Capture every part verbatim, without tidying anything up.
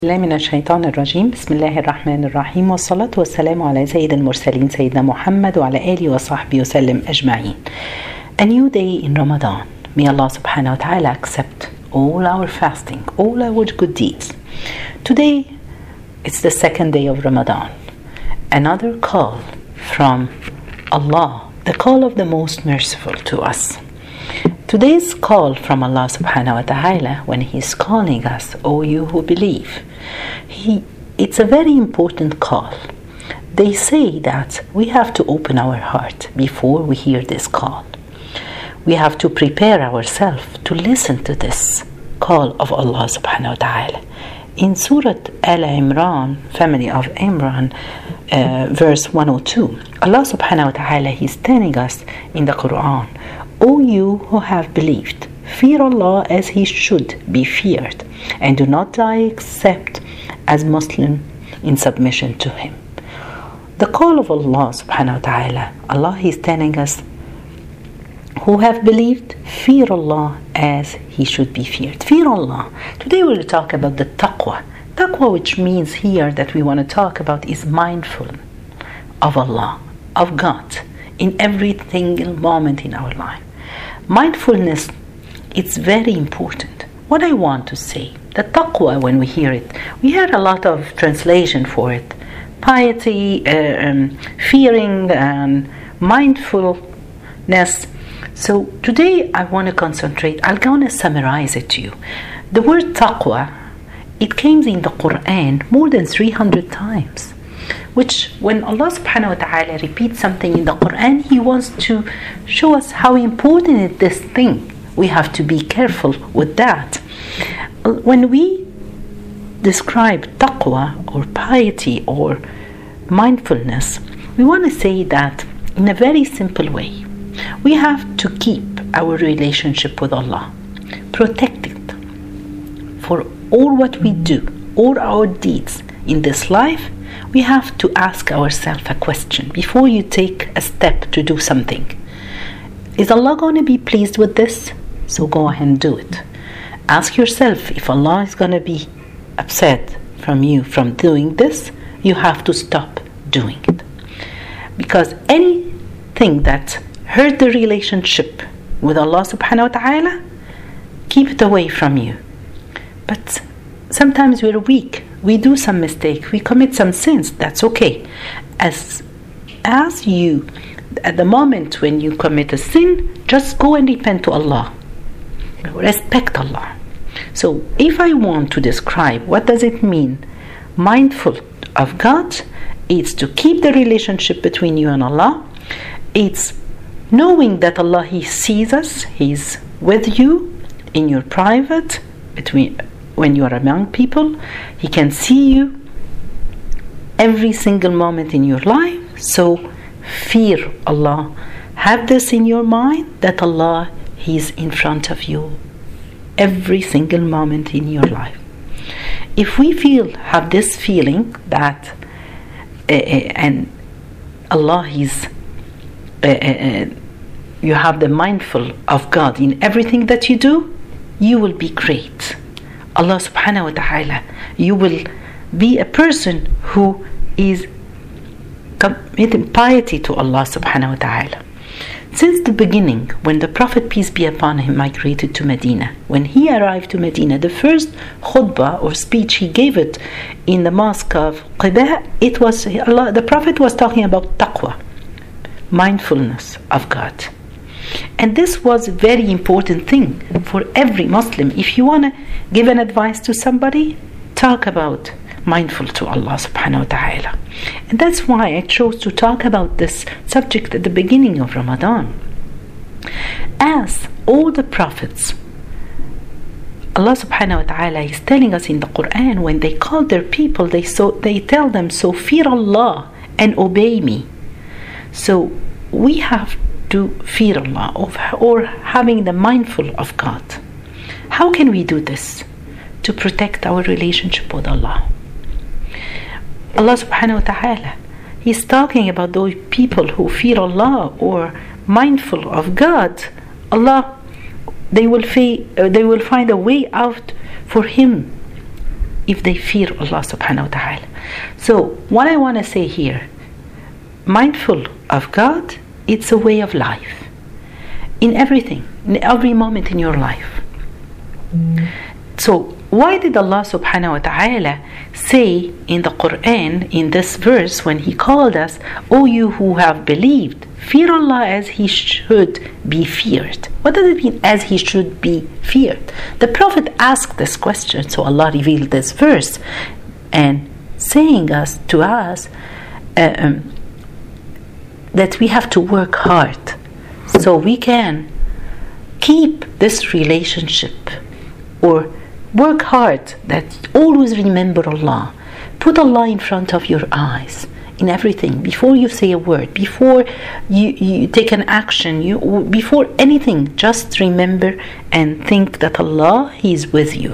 الله من الشيطان الرجيم. بسم الله الرحمن الرحيم، والصلاة والسلام على سيد المرسلين سيدنا محمد وعلى آله وصحبه وسلم أجمعين. A new day in Ramadan. May Allah subhanahu wa ta'ala accept all our fasting, all our good deeds. Today it's the second day of Ramadan. Another call from Allah, the call of the most merciful to us. Today's call from Allah subhanahu wa ta'ala, when He is calling us, O you who believe, he, it's a very important call. They say that we have to open our heart before we hear this call. We have to prepare ourselves to listen to this call of Allah subhanahu wa ta'ala. In Surah Al-Imran, family of Imran, uh, verse one oh two, Allah subhanahu wa ta'ala is telling us in the Quran, O you who have believed, fear Allah as He should be feared, and do not die except as Muslim in submission to Him. The call of Allah subhanahu wa ta'ala, Allah is telling us, who have believed, fear Allah as He should be feared. Fear Allah. Today we will talk about the taqwa. Taqwa, which means here that we want to talk about, is mindful of Allah, of God, in every single moment in our life. Mindfulness, it's very important. What I want to say, the taqwa, when we hear it, we hear a lot of translation for it. Piety, uh, um, fearing, and mindfulness. So today I want to concentrate, I'm going to summarize it to you. The word taqwa, it came in the Quran more than three hundred times. Which, when Allah subhanahu wa ta'ala repeats something in the Quran, He wants to show us how important is this thing. We have to be careful with that. When we describe taqwa or piety or mindfulness, we want to say that in a very simple way. We have to keep our relationship with Allah, protect it for all what we do, all our deeds in this life. We have to ask ourselves a question before you take a step to do something. Is Allah going to be pleased with this? So go ahead and do it. Ask yourself, if Allah is going to be upset from you from doing this, you have to stop doing it. Because anything that hurt the relationship with Allah subhanahu wa ta'ala, keep it away from you. But sometimes we're weak. We do some mistakes, we commit some sins, that's okay. As, as you, at the moment when you commit a sin, just go and repent to Allah. Respect Allah. So if I want to describe what does it mean, mindful of God, it's to keep the relationship between you and Allah. It's knowing that Allah, He sees us, He's with you in your private, between when you are among people, He can see you every single moment in your life. So fear Allah. Have this in your mind, that Allah, He is in front of you every single moment in your life. If we feel, have this feeling that uh, and Allah is uh, uh, you have the mindful of God in everything that you do, you will be great. Allah subhanahu wa ta'ala, you will be a person who is committing piety to Allah subhanahu wa ta'ala. Since the beginning, when the Prophet, peace be upon him, migrated to Medina, when he arrived to Medina, the first khutbah or speech he gave it in the mosque of Quba, it was Allah, the Prophet was talking about taqwa, mindfulness of God. And this was a very important thing for every Muslim. If you want to give an advice to somebody, talk about mindful to Allah subhanahu wa ta'ala. And that's why I chose to talk about this subject at the beginning of Ramadan. As all the prophets, Allah subhanahu wa ta'ala is telling us in the Quran, when they call their people, they, so, they tell them, so fear Allah and obey me. So we have to fear Allah, or having the mindful of God. How can we do this? To protect our relationship with Allah. Allah subhanahu wa ta'ala, He's talking about those people who fear Allah or mindful of God. Allah, they will, fa- they will find a way out for Him if they fear Allah subhanahu wa ta'ala. So what I want to say here, mindful of God, it's a way of life. In everything, in every moment in your life. Mm. So why did Allah subhanahu wa ta'ala say in the Quran, in this verse, when He called us, O you who have believed, fear Allah as He should be feared? What does it mean, as He should be feared? The Prophet asked this question, so Allah revealed this verse and saying us to us uh, um, that we have to work hard so we can keep this relationship, or work hard that always remember Allah. Put Allah in front of your eyes in everything, before you say a word, before you, you take an action, you before anything, just remember and think that Allah is with you.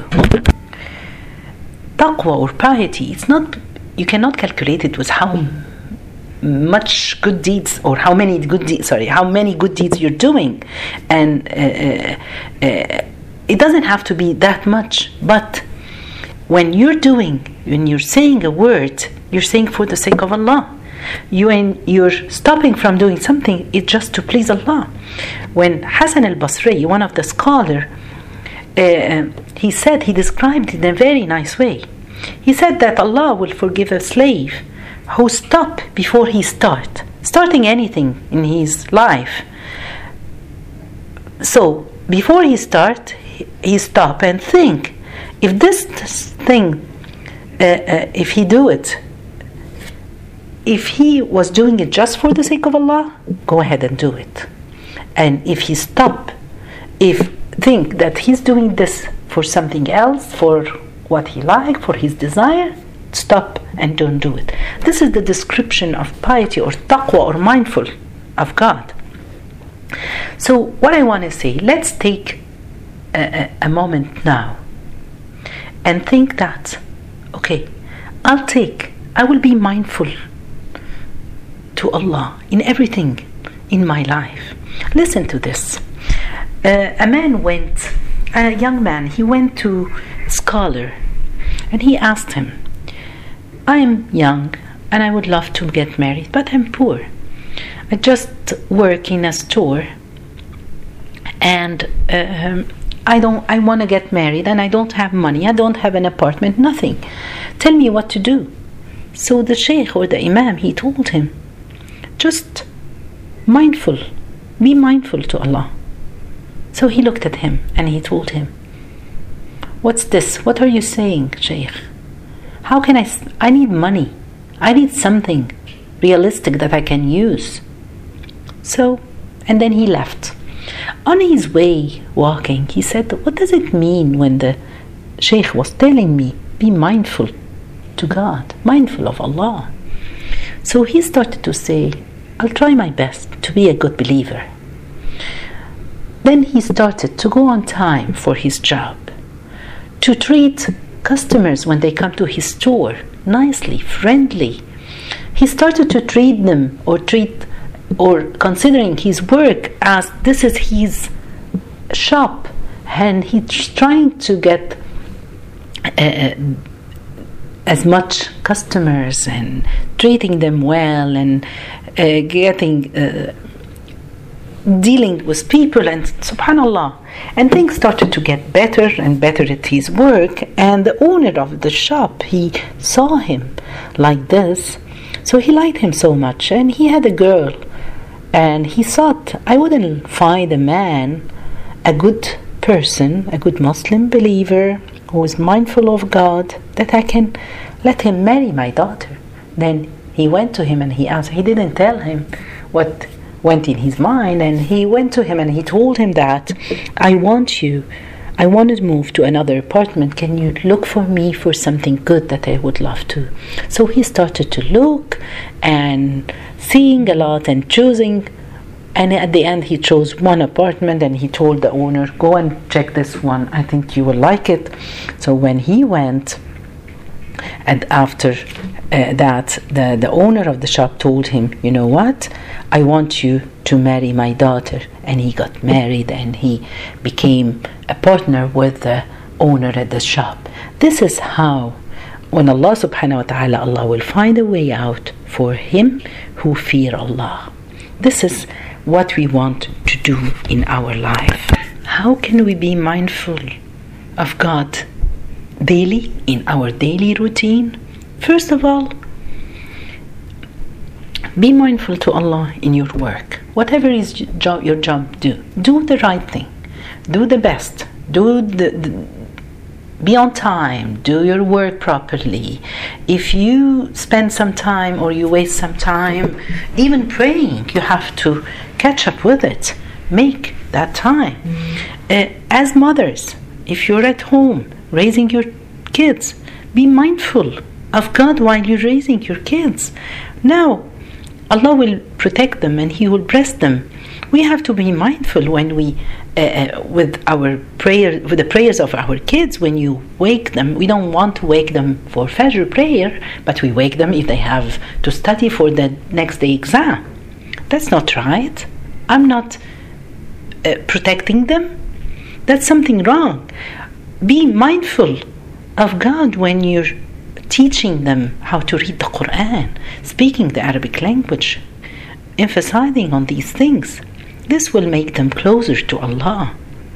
Taqwa or piety, it's not, you cannot calculate it with how much good deeds, or how many good deeds, sorry, how many good deeds you're doing. And uh, uh, it doesn't have to be that much, but when you're doing, when you're saying a word, you're saying for the sake of Allah. You and you're stopping from doing something, it's just to please Allah. When Hassan al-Basri, one of the scholars, uh, he said, he described it in a very nice way. He said that Allah will forgive a slave who stop before he start, starting anything in his life. So before he start, he stop and think, if this thing, uh, uh, if he do it, if he was doing it just for the sake of Allah, go ahead and do it. And if he stop, if think that he's doing this for something else, for what he like, for his desire, stop and don't do it. This is the description of piety or taqwa or mindful of God. So what I want to say, let's take a, a moment now and think that, okay, I'll take, I will be mindful to Allah in everything in my life. Listen to this. Uh, a man went, a young man, he went to a scholar and he asked him, I am young and I would love to get married, but I'm poor. I just work in a store and uh, I don't, I want to get married and I don't have money, I don't have an apartment, nothing. Tell me what to do. So the sheikh or the imam, he told him, just mindful, be mindful to Allah. So he looked at him and he told him, what's this? What are you saying, sheikh? How can I, I need money. I need something realistic that I can use. So, and then he left. On his way walking, he said, what does it mean when the sheikh was telling me, be mindful to God, mindful of Allah? So he started to say, I'll try my best to be a good believer. Then he started to go on time for his job, to treat customers when they come to his store nicely, friendly. He started to treat them or treat or considering his work as this is his shop, and he's trying to get uh, as much customers and treating them well and uh, getting uh, dealing with people, and subhanallah, and things started to get better and better at his work. And the owner of the shop, he saw him like this, so he liked him so much, and he had a girl, and he thought, I wouldn't find a man, a good person, a good Muslim believer who is mindful of God, that I can let him marry my daughter. Then he went to him and he asked, he didn't tell him what went in his mind, and he went to him and he told him that I want you, I want to move to another apartment, can you look for me for something good that I would love to? So he started to look and seeing a lot and choosing, and at the end he chose one apartment and he told the owner, go and check this one, I think you will like it. So when he went, and after uh, that the, the owner of the shop told him, you know what, I want you to marry my daughter. And he got married and he became a partner with the owner at the shop. This is how when Allah subhanahu wa ta'ala, Allah will find a way out for him who fear Allah. This is what we want to do in our life. How can we be mindful of God daily, in our daily routine? First of all, be mindful to Allah in your work. Whatever is job, your job, do. Do the right thing. Do the best. Do the, the be on time. Do your work properly. If you spend some time or you waste some time, even praying, you have to catch up with it. Make that time. Uh, as mothers, if you're at home raising your kids, be mindful of God while you're raising your kids. Now, Allah will protect them and He will bless them. We have to be mindful when we, uh, uh, with our prayer, with the prayers of our kids. When you wake them, we don't want to wake them for Fajr prayer, but we wake them if they have to study for the next day exam. That's not right. I'm not uh, protecting them. That's something wrong. Be mindful of God when you're teaching them how to read the Quran, speaking the Arabic language, emphasizing on these things. This will make them closer to Allah.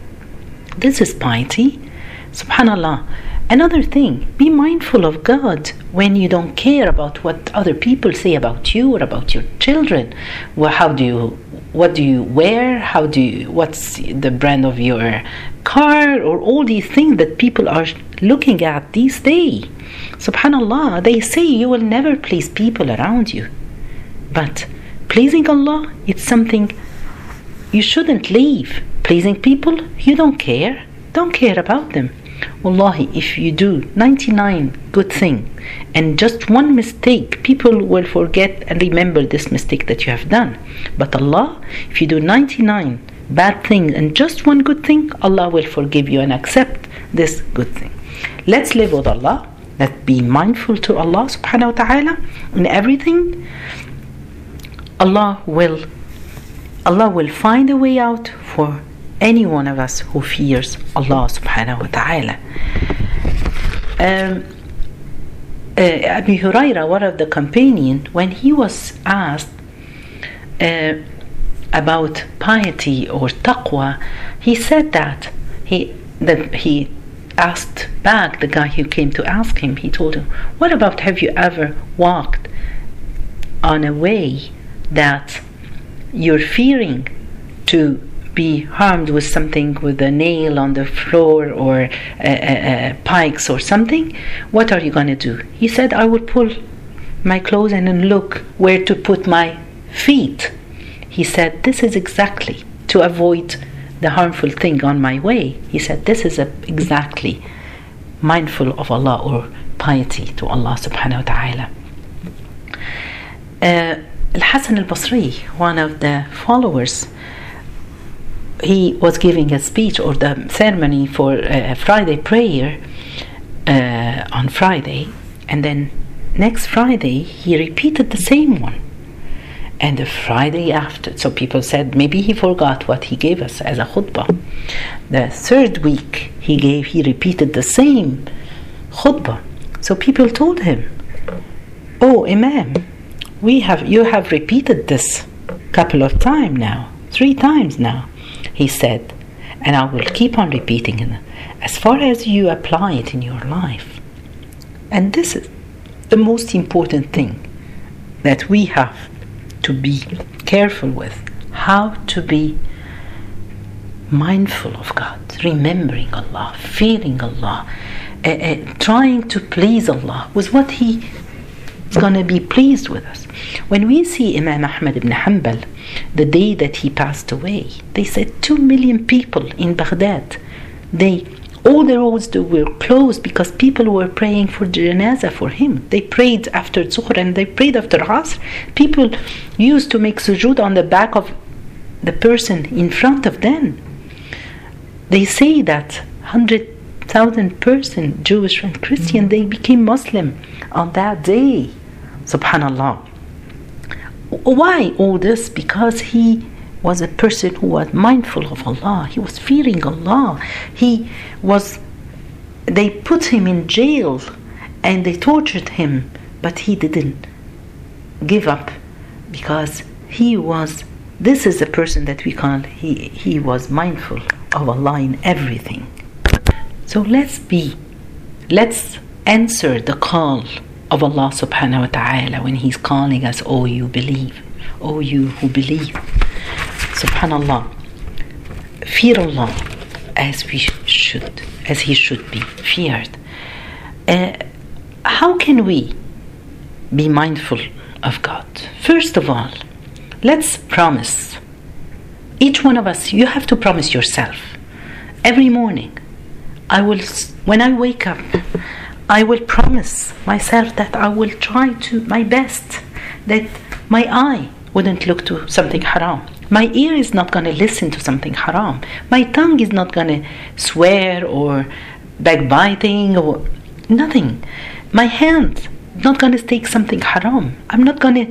This is piety. Subhanallah. Another thing, be mindful of God when you don't care about what other people say about you or about your children. Well, how do you, what do you wear? How do you, what's the brand of your car? Or all these things that people are looking at these days. Subhanallah, they say you will never please people around you. But pleasing Allah, it's something you shouldn't leave. Pleasing people, you don't care. Don't care about them. Wallahi, if you do ninety-nine good things and just one mistake, people will forget and remember this mistake that you have done. But Allah, if you do ninety-nine bad things and just one good thing, Allah will forgive you and accept this good thing. Let's live with Allah. Let's be mindful to Allah subhanahu wa ta'ala in everything. Allah will Allah will find a way out for any one of us who fears Allah subhanahu wa ta'ala. Um, uh, Abu Huraira, one of the companions, when he was asked uh, about piety or taqwa, he said that he that he asked back the guy who came to ask him. He told him, "What about, have you ever walked on a way that you're fearing to be harmed with something, with a nail on the floor or uh, uh, pikes or something? What are you going to do?" He said, "I would pull my clothes in and look where to put my feet." He said, "This is exactly to avoid the harmful thing on my way." He said, "This is a, exactly mindful of Allah or piety to Allah subhanahu wa ta'ala." Uh, Al-Hasan al-Basri, one of the followers, he was giving a speech or the ceremony for uh, Friday prayer uh, on Friday, and then next Friday he repeated the same one, and the Friday after. So people said maybe he forgot what he gave us as a khutbah. The third week he gave, he repeated the same khutbah. So people told him, "Oh, Imam, we have you have repeated this couple of times now, three times now." He said, "And I will keep on repeating it as far as you apply it in your life." And this is the most important thing that we have to be careful with, how to be mindful of God, remembering Allah, fearing Allah, uh, uh, trying to please Allah with what He is going to be pleased with us. When we see Imam Ahmad ibn Hanbal, the day that he passed away, they said two million people in Baghdad, they all the roads were closed because people were praying for janazah for him. They prayed after Zuhr and they prayed after Asr. People used to make sujood on the back of the person in front of them. They say that one hundred thousand person, Jewish and Christian, they became Muslim on that day. Subhanallah. Why all this? Because he was a person who was mindful of Allah. He was fearing Allah. He was, they put him in jail and they tortured him, but he didn't give up, because he was, this is a person that we call, he, he was mindful of Allah in everything. So let's be, let's answer the call of Allah subhanahu wa ta'ala when He's calling us, oh you believe, oh you who believe. Subhanallah, fear Allah as we should, as He should be feared. Uh, how can we be mindful of God? First of all, let's promise. Each one of us, you have to promise yourself every morning, I will, when I wake up, I will promise myself that I will try to my best, that my eye wouldn't look to something haram, my ear is not going to listen to something haram, my tongue is not going to swear or backbiting or nothing, my hand not going to take something haram, I'm not going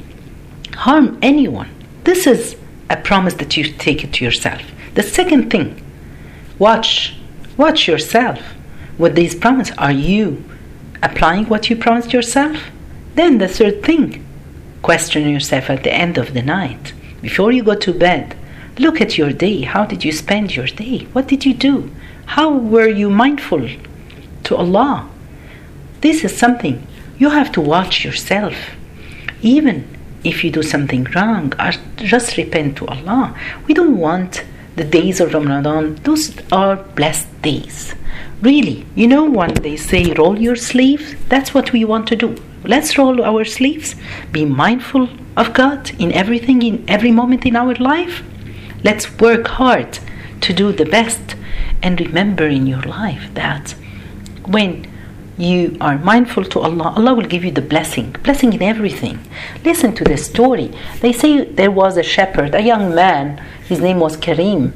to harm anyone. This is a promise that you take it to yourself. The second thing, watch watch yourself with these promises. Are you applying what you promised yourself? Then the third thing, question yourself at the end of the night, before you go to bed. Look at your day. How did you spend your day? What did you do? How were you mindful to Allah? This is something you have to watch yourself. Even if you do something wrong, just repent to Allah. We don't want the days of Ramadan. Those are blessed days. Really, you know when they say roll your sleeves, that's what we want to do. Let's roll our sleeves. Be mindful of God in everything, in every moment in our life. Let's work hard to do the best. And remember in your life that when you are mindful to Allah, Allah will give you the blessing, blessing in everything. Listen to this story. They say there was a shepherd, a young man, his name was Karim.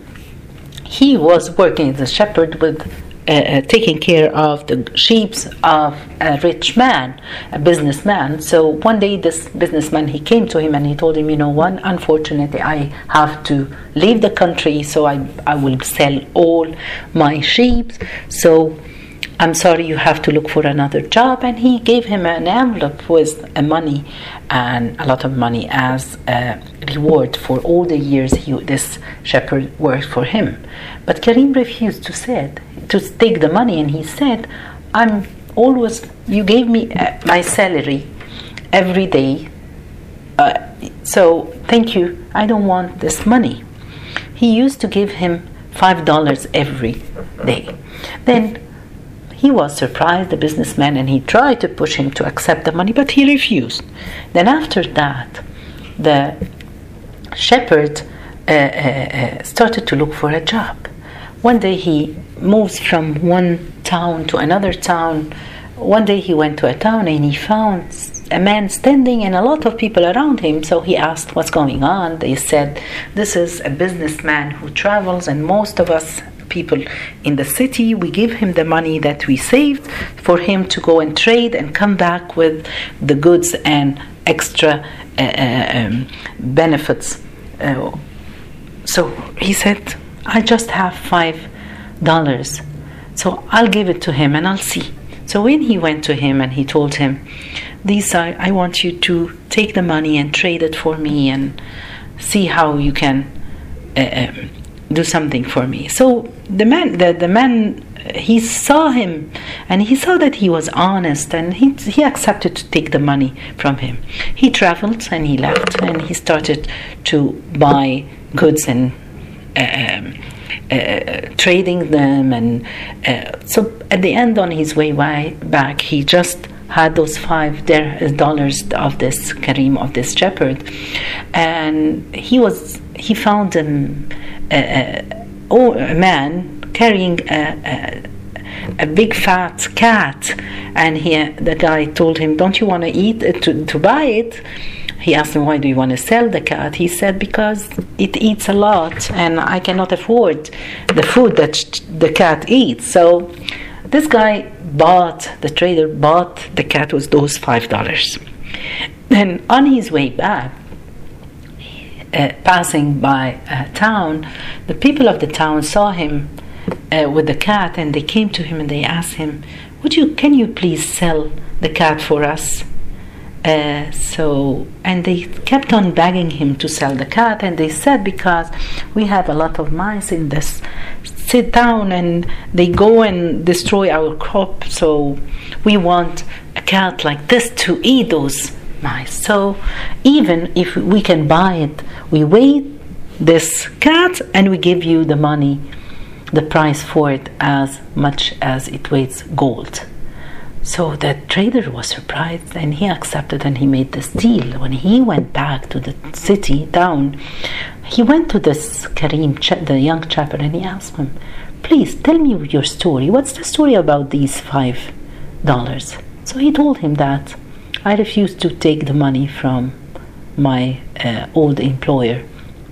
He was working as a shepherd with uh, uh, taking care of the sheep of a rich man, a businessman. So one day this businessman, he came to him and he told him, you know what, unfortunately I have to leave the country, so I, I will sell all my sheep. So I'm sorry, you have to look for another job. And he gave him an envelope with a money and a lot of money as a reward for all the years he, this shepherd worked for him. But Karim refused to said to take the money, and he said, I'm always, you gave me uh, my salary every day, uh, so thank you, I don't want this money. He used to give him five dollars every day. Then he was surprised, the businessman, and he tried to push him to accept the money, but he refused. Then after that, the shepherd uh, uh, started to look for a job. One day he moves from one town to another town. One day he went to a town and he found a man standing and a lot of people around him. So he asked, what's going on? They said, this is a businessman who travels, and most of us people in the city, we give him the money that we saved for him to go and trade and come back with the goods and extra uh, um, benefits. Uh, so he said, I just have five dollars, so I'll give it to him and I'll see. So when he went to him and he told him, these are, I want you to take the money and trade it for me and see how you can uh, um, do something for me. So the man, the, the man, he saw him and he saw that he was honest, and he he accepted to take the money from him. He traveled and he left and he started to buy goods and um, uh, trading them, and uh, so at the end, on his way back, he just had those five dollars of this Karim, of this shepherd, and he was he found him a, a, a man carrying a, a a big fat cat, and he the guy told him, don't you want to eat it, to, to buy it? He asked him, why do you want to sell the cat? He said, because it eats a lot and I cannot afford the food that the cat eats. So this guy bought, the trader bought the cat with those five dollars. Then on his way back, uh, passing by a town, the people of the town saw him uh, with the cat, and they came to him and they asked him, would you, can you please sell the cat for us? Uh, so, and they kept on begging him to sell the cat, and they said, because we have a lot of mice in this sit down and they go and destroy our crop, so we want a cat like this to eat those mice. So even if we can buy it, we weigh this cat and we give you the money, the price for it, as much as it weighs gold. So the trader was surprised, and he accepted, and he made this deal. When he went back to the city town, he went to this Karim, the young shepherd, and he asked him, please tell me your story. What's the story about these five dollars? So he told him that I refused to take the money from my uh, old employer.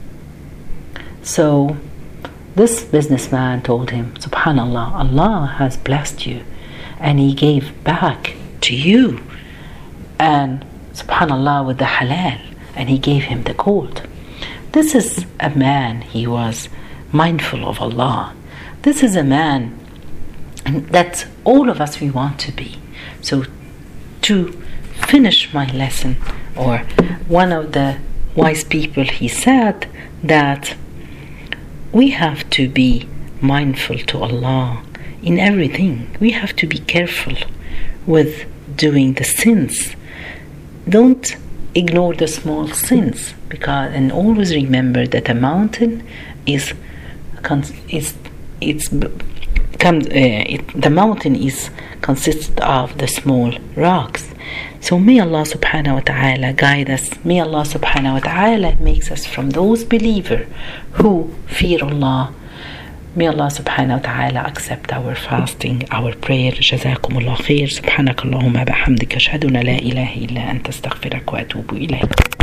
So this businessman told him, Subhanallah, Allah has blessed you, and He gave back to you, and Subhanallah, with the halal, and He gave him the gold. This is a man, he was mindful of Allah. This is a man that all of us we want to be. So to finish my lesson, or one of the wise people, he said that we have to be mindful to Allah in everything. We have to be careful with doing the sins. Don't ignore the small sins, because, and always remember that a mountain is is it's comes uh, it, the mountain is consists of the small rocks. So may Allah subhanahu wa ta'ala guide us. May Allah subhanahu wa ta'ala makes us from those believers who fear Allah. May Allah subhanahu wa ta'ala accept our fasting, our prayer. جزاكم الله خير. سبحانك اللهم بحمدك أشهد أن لا إله إلا أنت أستغفرك وأتوب إليك.